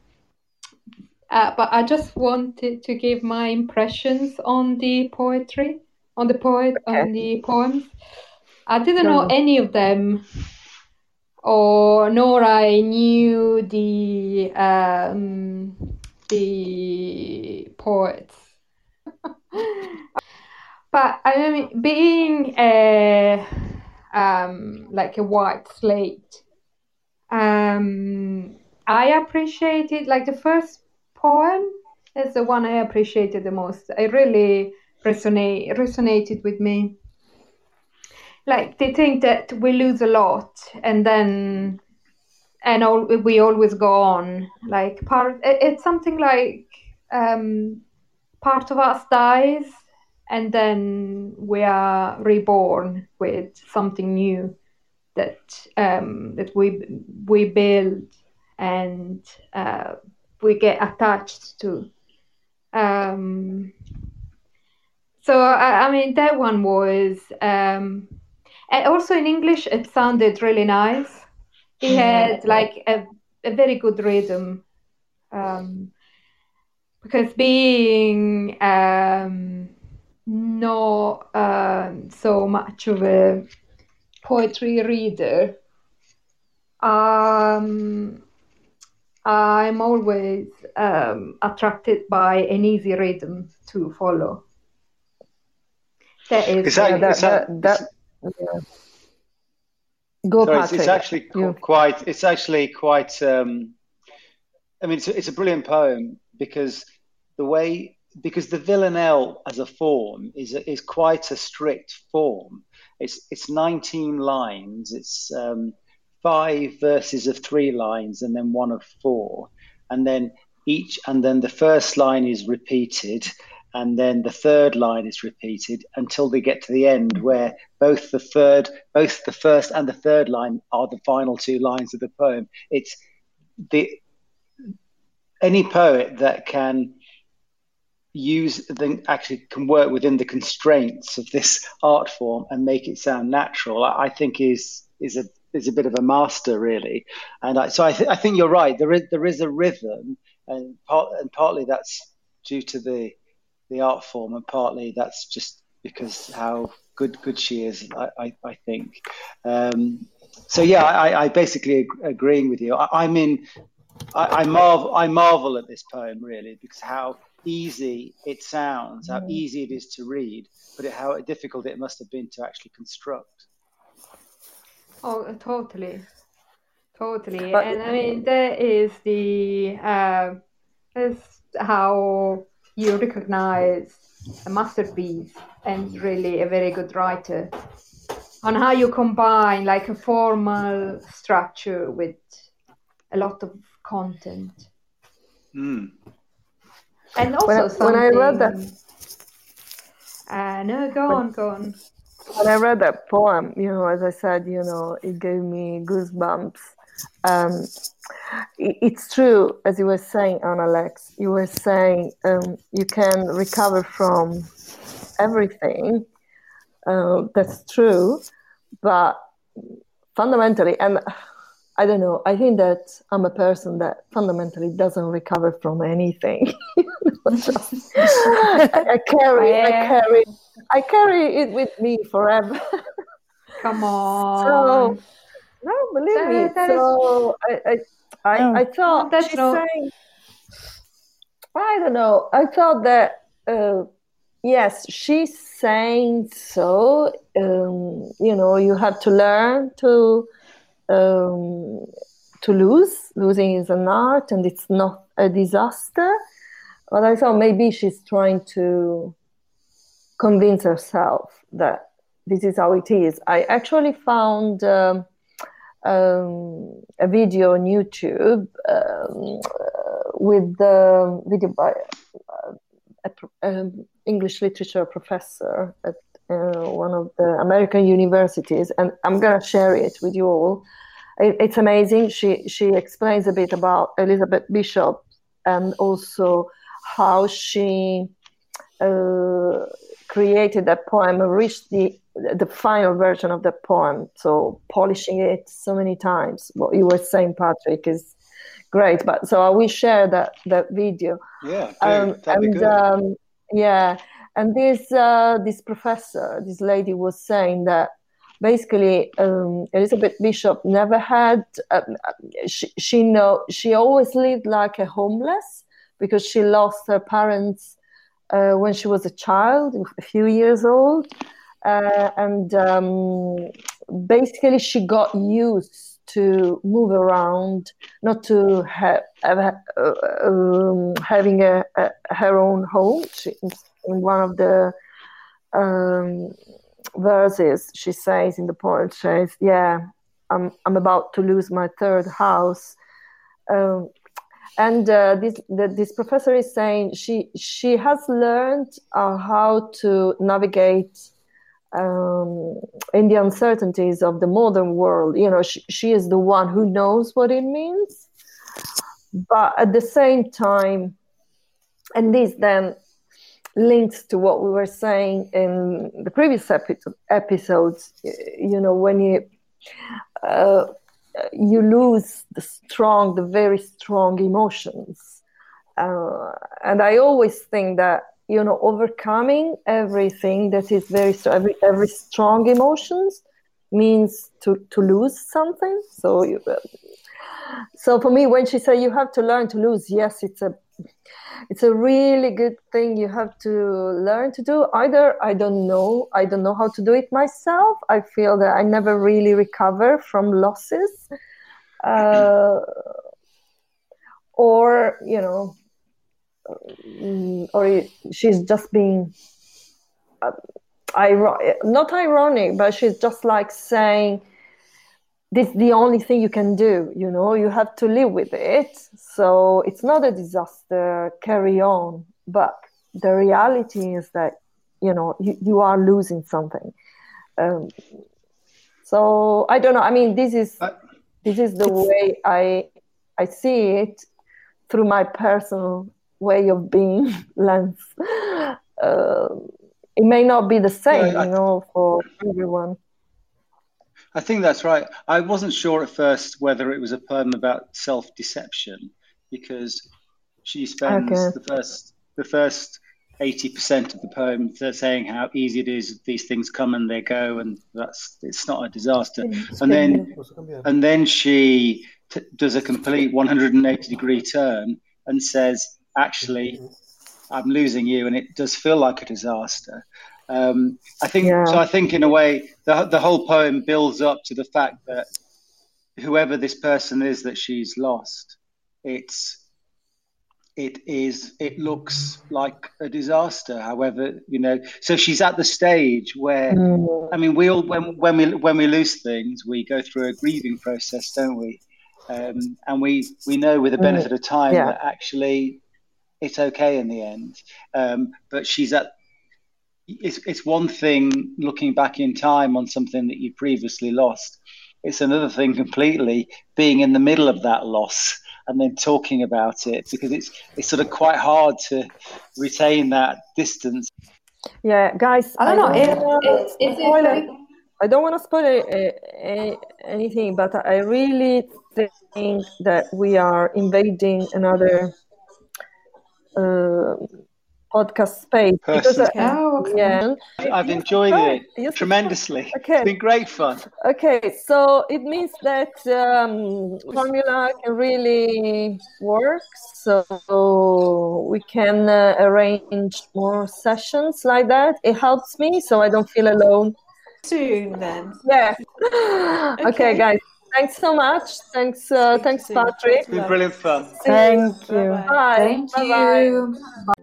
S5: I just wanted to give my impressions on the poetry, on the poems. I didn't know any of them, nor I knew the poets. But I mean, being like a white slate, I appreciated, like, the first poem is the one I appreciated the most. It really resonated with me. Like, they think that we lose a lot, and we always go on. Like, it's something like part of us dies, and then we are reborn with something new that we build and we get attached to. So I mean, that one was, and also in English it sounded really nice. He had like a very good rhythm, because being not so much of a poetry reader, I'm always attracted by an easy rhythm to follow. That is
S2: It's actually quite. I mean, it's a brilliant poem because the villanelle as a form is quite a strict form. It's 19 lines. It's 5 verses of 3 lines and then 1 of 4, and then the first line is repeated, and then the third line is repeated until they get to the end, where both the first and the third line are the final 2 lines of the poem. It's any poet that can can work within the constraints of this art form and make it sound natural, I think is a bit of a master, really. And I think you're right. There is a rhythm, and partly that's due to the art form, and partly that's just because how good she is. I think. So yeah, I basically agreeing with you. I marvel at this poem, really, because how easy it sounds, how easy it is to read, but how difficult it must have been to actually construct.
S5: Oh, totally. And I mean, that is that's how you recognize a masterpiece and really a very good writer, on how you combine like a formal structure with a lot of content. And also
S1: when I read that,
S5: no, go on.
S1: When I read that poem, as I said, it gave me goosebumps. It's true, as you were saying, Annalex. You were saying you can recover from everything. That's true, but fundamentally, and I don't know, I think that I'm a person that fundamentally doesn't recover from anything. I carry it with me forever.
S5: Come on.
S1: So, no, believe me. So I thought she's saying, I don't know. I thought that yes, she's saying so. You have to learn to lose. Losing is an art, and it's not a disaster. But I thought maybe she's trying to convince herself that this is how it is. I actually found a video on YouTube with the video by an English literature professor at one of the American universities, and I'm going to share it with you all. It's amazing. She explains a bit about Elizabeth Bishop and also how she created that poem and reached the final version of the poem. So polishing it so many times. What you were saying, Patrick, is great. But so I will share that video.
S2: Yeah, that'd be good.
S1: And this professor, this lady, was saying that basically Elizabeth Bishop never had. She always lived like a homeless because she lost her parents when she was a child, a few years old, and basically she got used to move around, not to having her own home. In one of the verses, she says in the poem, she says, "Yeah, I'm about to lose my third house." And this professor is saying she has learned how to navigate in the uncertainties of the modern world. She is the one who knows what it means. But at the same time, and this then links to what we were saying in the previous episodes, when you lose the very strong emotions. And I always think that, overcoming everything that is very strong, every strong emotions means to lose something. So for me, when she said you have to learn to lose, yes, it's a really good thing you have to learn to do. Either I don't know how to do it myself. I feel that I never really recover from losses, or she's just being not ironic, but she's just like saying, this is the only thing you can do, you have to live with it. So it's not a disaster, carry on. But the reality is that, you are losing something. So I don't know. I mean, this is the way I see it through my personal way of being lens. It may not be the same, for everyone.
S2: I think that's right. I wasn't sure at first whether it was a poem about self-deception, because she spends the first 80% of the poem saying how easy it is. These things come and they go, and it's not a disaster. And then she does a complete 180-degree turn and says, "Actually, I'm losing you," and it does feel like a disaster. I think in a way the whole poem builds up to the fact that whoever this person is that she's lost, it looks like a disaster. However, so she's at the stage where, I mean, we all when we lose things, we go through a grieving process, don't we? And we know with the benefit of time that actually it's okay in the end. But she's at. It's one thing looking back in time on something that you previously lost. It's another thing completely being in the middle of that loss and then talking about it, because it's sort of quite hard to retain that distance.
S1: Yeah, guys,
S5: I don't know.
S1: I don't want to spoil anything, but I really think that we are invading another podcast space.
S2: I've enjoyed it tremendously. Okay. It's been great fun.
S1: Okay, so it means that formula can really work. So we can arrange more sessions like that. It helps me, so I don't feel alone.
S4: Soon then.
S1: Yeah. Okay, guys. Thanks so much. Thanks, Patrick.
S2: It's been brilliant fun.
S3: Thank you.
S1: Bye.
S5: Thank you. Bye.